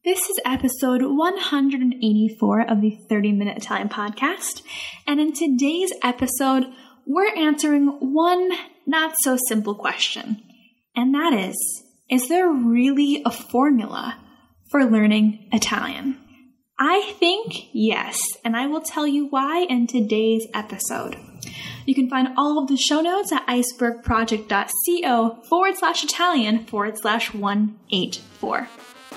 This is episode 184 of the 30-Minute Italian Podcast, and in today's episode, we're answering one not-so-simple question, and that is there really a formula for learning Italian? I think yes, and I will tell you why in today's episode. You can find all of the show notes at icebergproject.co/Italian/184.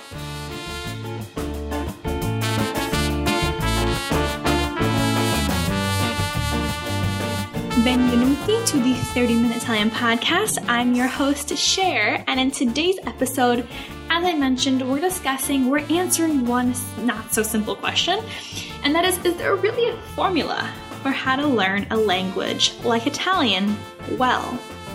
Benvenuti to the 30-Minute Italian Podcast. I'm your host, Cher, and in today's episode, as I mentioned, we're answering one not-so-simple question, and that is there really a formula for how to learn a language like Italian well?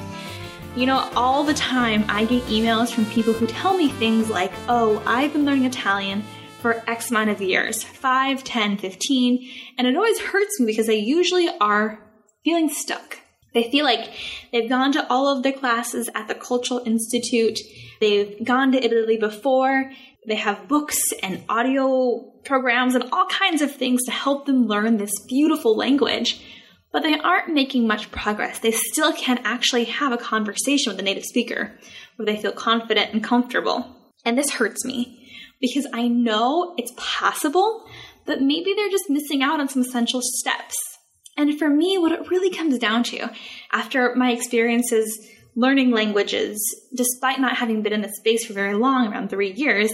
You know, all the time I get emails from people who tell me things like, oh, I've been learning Italian for X amount of years, 5, 10, 15, and it always hurts me because they usually are feeling stuck. They feel like they've gone to all of their classes at the Cultural Institute, they've gone to Italy before, they have books and audio programs and all kinds of things to help them learn this beautiful language, but they aren't making much progress. They still can't actually have a conversation with a native speaker where they feel confident and comfortable. And this hurts me because I know it's possible, but maybe they're just missing out on some essential steps. And for me, what it really comes down to, after my experiences learning languages, despite not having been in the space for very long, around 3 years,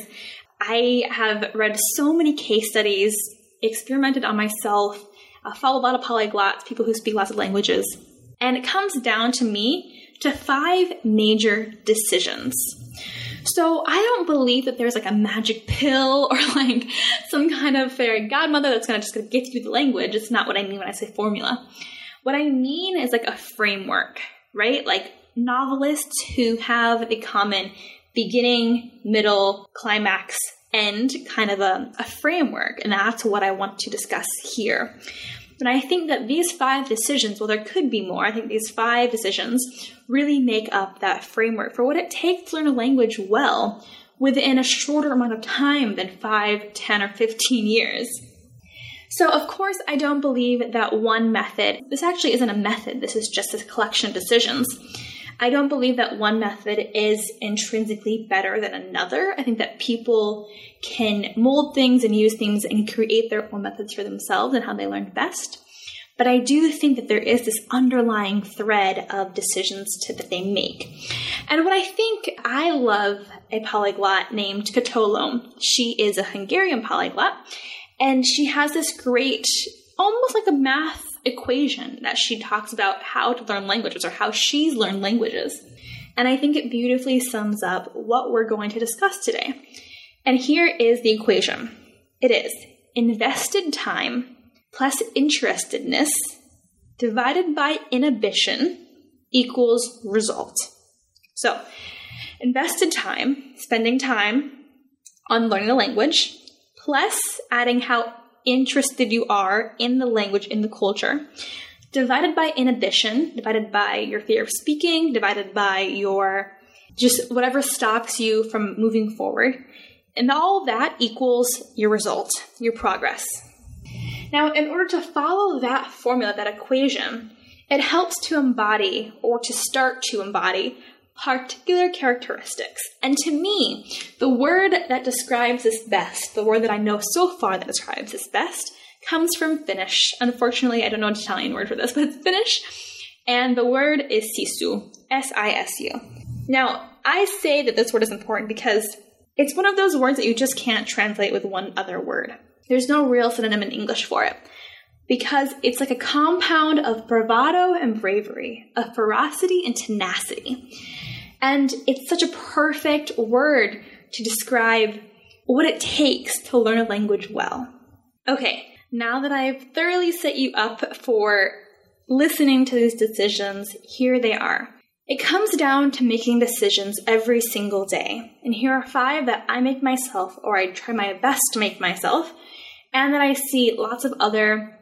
I have read so many case studies, experimented on myself, followed a lot of polyglots, people who speak lots of languages. And it comes down to me to 5 major decisions. So I don't believe that there's like a magic pill or like some kind of fairy godmother that's just going to get you the language. It's not what I mean when I say formula. What I mean is like a framework, right? Like novelists who have a common beginning, middle, climax, end, kind of a framework. And that's what I want to discuss here. And I think that these 5 decisions, well, there could be more. I think these 5 decisions really make up that framework for what it takes to learn a language well within a shorter amount of time than 5, 10, or 15 years. So, of course, I don't believe that one method, this actually isn't a method, this is just a collection of decisions. I don't believe that one method is intrinsically better than another. I think that people can mold things and use things and create their own methods for themselves and how they learn best. But I do think that there is this underlying thread of decisions that they make. And what I love a polyglot named Katolo. She is a Hungarian polyglot, and she has this great, almost like a math equation that she talks about how to learn languages or how she's learned languages. And I think it beautifully sums up what we're going to discuss today. And here is the equation. It is invested time plus interestedness divided by inhibition equals result. So, invested time, spending time on learning a language, plus adding how interested you are in the language, in the culture, divided by inhibition, divided by your fear of speaking, divided by your just whatever stops you from moving forward. And all of that equals your result, your progress. Now, in order to follow that formula, that equation, it helps to embody or to start to embody particular characteristics. And to me, the word that describes this best, the word that I know so far that describes this best, comes from Finnish. Unfortunately, I don't know an Italian word for this, but it's Finnish. And the word is sisu, S-I-S-U. Now, I say that this word is important because it's one of those words that you just can't translate with one other word. There's no real synonym in English for it. Because it's like a compound of bravado and bravery, of ferocity and tenacity. And it's such a perfect word to describe what it takes to learn a language well. Okay, now that I've thoroughly set you up for listening to these decisions, here they are. It comes down to making decisions every single day. And here are 5 that I make myself, or I try my best to make myself, and that I see lots of other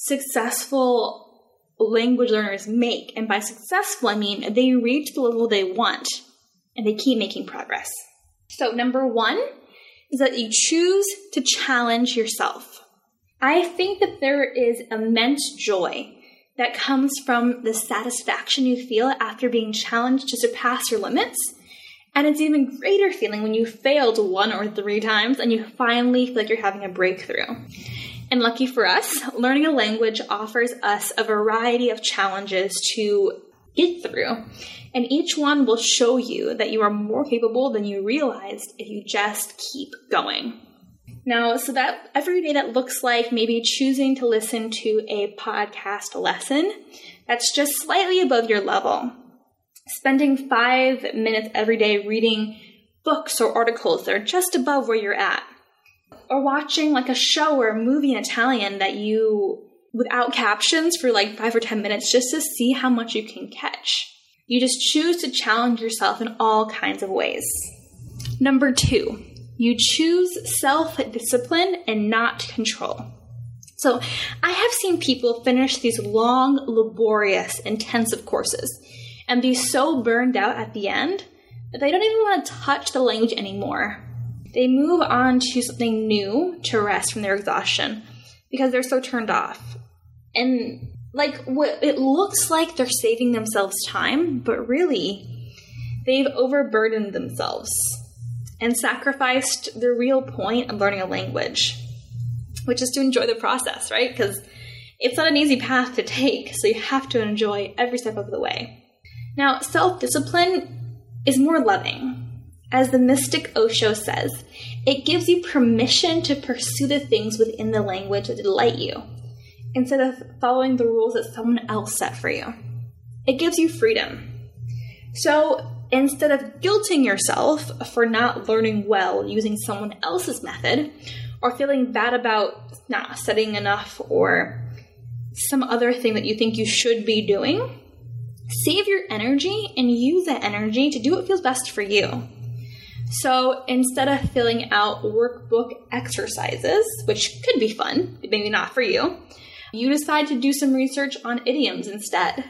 successful language learners make. And by successful, I mean they reach the level they want and they keep making progress. So number 1 is that you choose to challenge yourself. I think that there is immense joy that comes from the satisfaction you feel after being challenged to surpass your limits. And it's an even greater feeling when you failed 1 or 3 times and you finally feel like you're having a breakthrough. And lucky for us, learning a language offers us a variety of challenges to get through. And each one will show you that you are more capable than you realized if you just keep going. Now, so that every day that looks like maybe choosing to listen to a podcast lesson that's just slightly above your level. Spending 5 minutes every day reading books or articles that are just above where you're at. Or watching like a show or a movie in Italian that you, without captions for like 5 or 10 minutes just to see how much you can catch. You just choose to challenge yourself in all kinds of ways. Number 2, you choose self-discipline and not control. So I have seen people finish these long, laborious, intensive courses and be so burned out at the end that they don't even want to touch the language anymore. They move on to something new to rest from their exhaustion because they're so turned off. And like what it looks like they're saving themselves time, but really they've overburdened themselves and sacrificed the real point of learning a language, which is to enjoy the process, right? Because it's not an easy path to take, so you have to enjoy every step of the way. Now, self-discipline is more loving. As the mystic Osho says, it gives you permission to pursue the things within the language that delight you, instead of following the rules that someone else set for you. It gives you freedom. So instead of guilting yourself for not learning well using someone else's method, or feeling bad about not studying enough or some other thing that you think you should be doing, save your energy and use that energy to do what feels best for you. So instead of filling out workbook exercises, which could be fun, maybe not for you, you decide to do some research on idioms instead.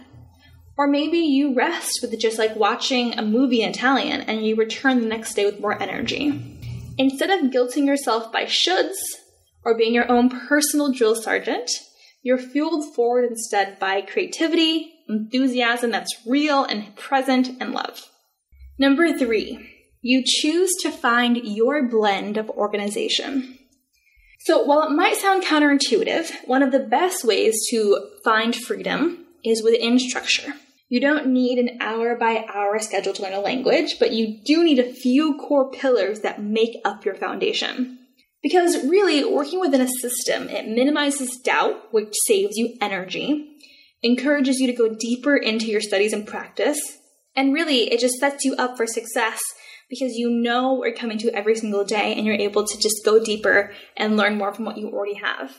Or maybe you rest with just like watching a movie in Italian and you return the next day with more energy. Instead of guilting yourself by shoulds or being your own personal drill sergeant, you're fueled forward instead by creativity, enthusiasm that's real and present, and love. Number 3. You choose to find your blend of organization. So while it might sound counterintuitive, one of the best ways to find freedom is within structure. You don't need an hour-by-hour schedule to learn a language, but you do need a few core pillars that make up your foundation. Because really, working within a system, it minimizes doubt, which saves you energy, encourages you to go deeper into your studies and practice, and really, it just sets you up for success because you know what you're coming to every single day and you're able to just go deeper and learn more from what you already have.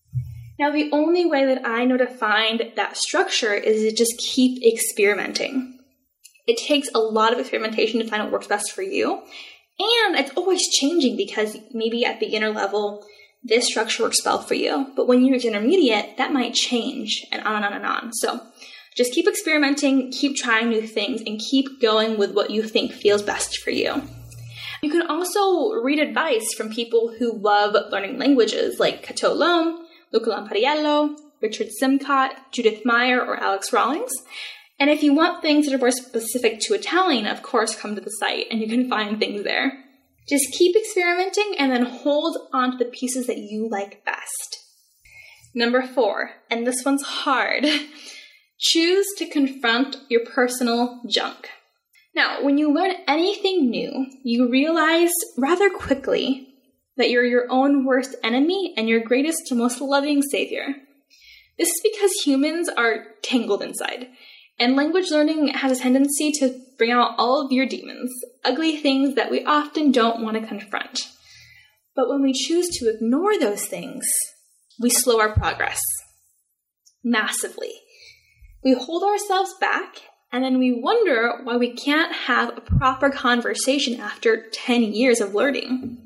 Now, the only way that I know to find that structure is to just keep experimenting. It takes a lot of experimentation to find what works best for you. And it's always changing because maybe at beginner level, this structure works well for you. But when you reach intermediate, that might change and on and on and on. So just keep experimenting, keep trying new things, and keep going with what you think feels best for you. You can also read advice from people who love learning languages like Cato Loam, Luca Lampariello, Richard Simcott, Judith Meyer, or Alex Rawlings. And if you want things that are more specific to Italian, of course, come to the site and you can find things there. Just keep experimenting and then hold on to the pieces that you like best. Number 4, and this one's hard. Choose to confront your personal junk. Now, when you learn anything new, you realize rather quickly that you're your own worst enemy and your greatest and most loving savior. This is because humans are tangled inside, and language learning has a tendency to bring out all of your demons, ugly things that we often don't want to confront. But when we choose to ignore those things, we slow our progress massively. We hold ourselves back, and then we wonder why we can't have a proper conversation after 10 years of learning.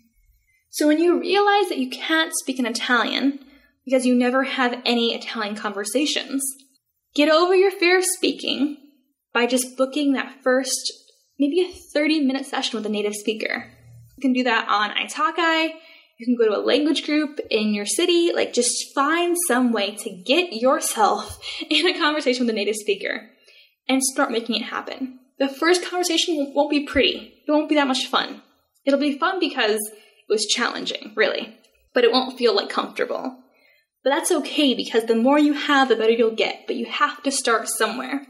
So when you realize that you can't speak in Italian because you never have any Italian conversations, get over your fear of speaking by just booking that first, maybe a 30-minute session with a native speaker. You can do that on Italki. You can go to a language group in your city. Like, just find some way to get yourself in a conversation with a native speaker and start making it happen. The first conversation won't be pretty. It won't be that much fun. It'll be fun because it was challenging, really, but it won't feel like comfortable. But that's okay, because the more you have, the better you'll get, but you have to start somewhere.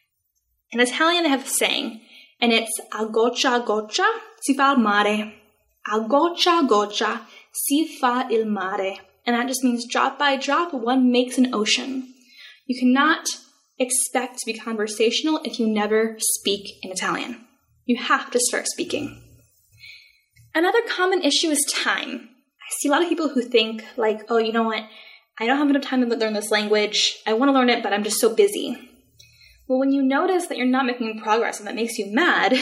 In Italian, they have a saying, and it's a goccia a goccia si fa il mare. A goccia a goccia si fa il mare. And that just means drop by drop, one makes an ocean. You cannot expect to be conversational if you never speak in Italian. You have to start speaking. Another common issue is time. I see a lot of people who think like, oh, you know what? I don't have enough time to learn this language. I want to learn it, but I'm just so busy. Well, when you notice that you're not making progress and that makes you mad,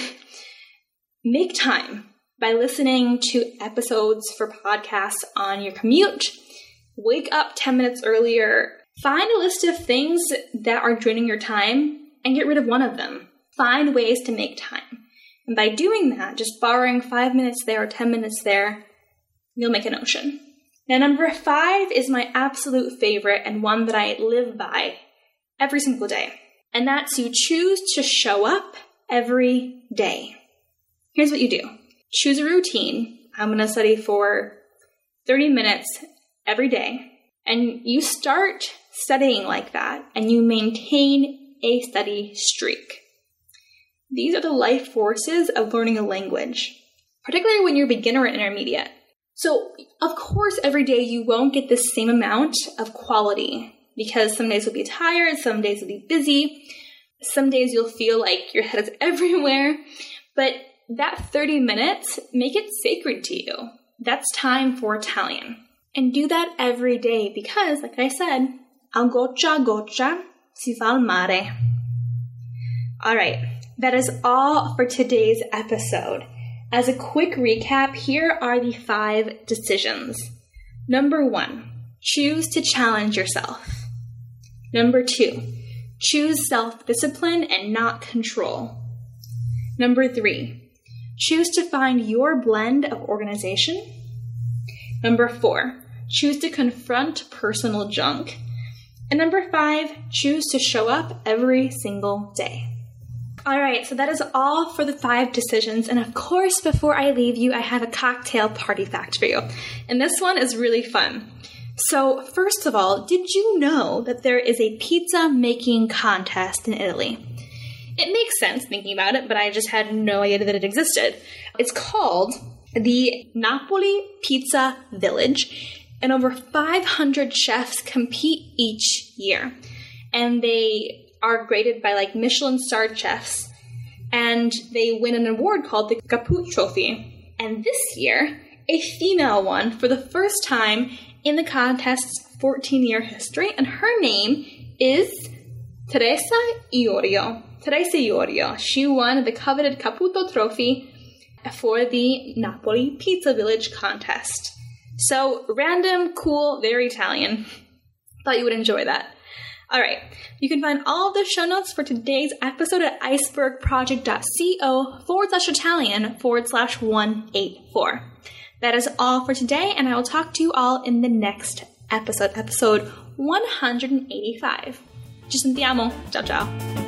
make time by listening to episodes for podcasts on your commute. Wake up 10 minutes earlier. Find a list of things that are draining your time and get rid of one of them. Find ways to make time. And by doing that, just borrowing 5 minutes there or 10 minutes there, you'll make an ocean. Now, number 5 is my absolute favorite and one that I live by every single day. And that's you choose to show up every day. Here's what you do. Choose a routine. I'm going to study for 30 minutes every day. And you start studying like that, and you maintain a study streak. These are the life forces of learning a language, particularly when you're beginner and intermediate. So, of course, every day you won't get the same amount of quality, because some days you'll be tired, some days you'll be busy, some days you'll feel like your head is everywhere, but that 30 minutes, make it sacred to you. That's time for Italian. And do that every day because, like I said, a goccia a goccia si fa il mare. All right, that is all for today's episode. As a quick recap, here are the 5 decisions. Number 1, choose to challenge yourself. Number 2, choose self-discipline and not control. Number 3, choose to find your blend of organization. Number 4, choose to confront personal junk. And number 5, choose to show up every single day. All right, so that is all for the 5 decisions. And of course, before I leave you, I have a cocktail party fact for you. And this one is really fun. So first of all, did you know that there is a pizza making contest in Italy? It makes sense thinking about it, but I just had no idea that it existed. It's called the Napoli Pizza Village, and over 500 chefs compete each year. And they are graded by like Michelin-starred chefs, and they win an award called the Caputo Trophy. And this year, a female won for the first time in the contest's 14-year history, and her name is Teresa Iorio. Teresa Iorio. She won the coveted Caputo Trophy for the Napoli Pizza Village contest. So, random, cool, very Italian. Thought you would enjoy that. Alright, you can find all of the show notes for today's episode at icebergproject.co/Italian/184. That is all for today, and I will talk to you all in the next episode 185. Ci sentiamo. Ciao ciao.